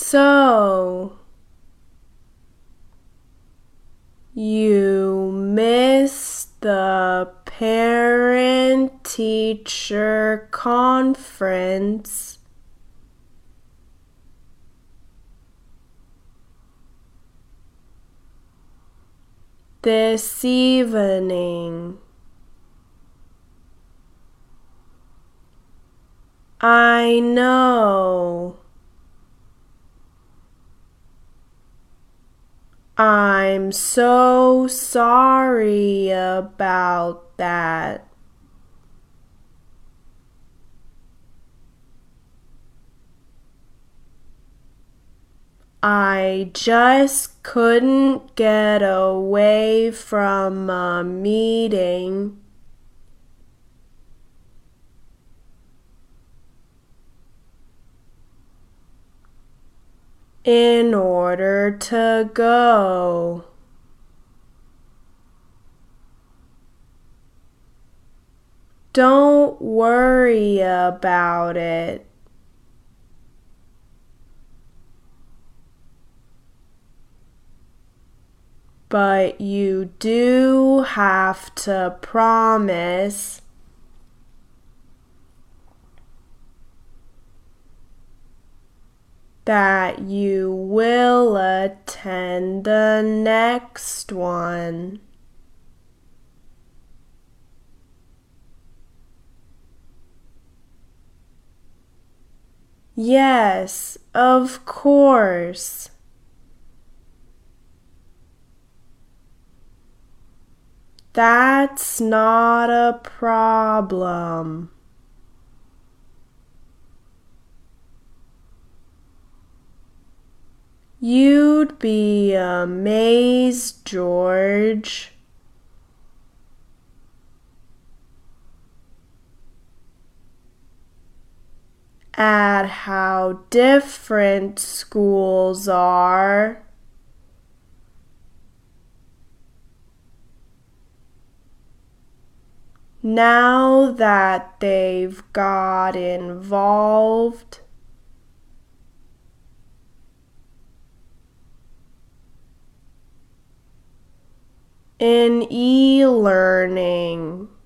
So, you missed the parent-teacher conference this evening. I know. I'm so sorry about that. I just couldn't get away from a meeting. In order to go. Don't worry about it. But you do have to promise that you will attend the next one. Yes, of course. That's not a problem. You'd be amazed, George, at how different schools are. Now that they've got involved. In e-learning.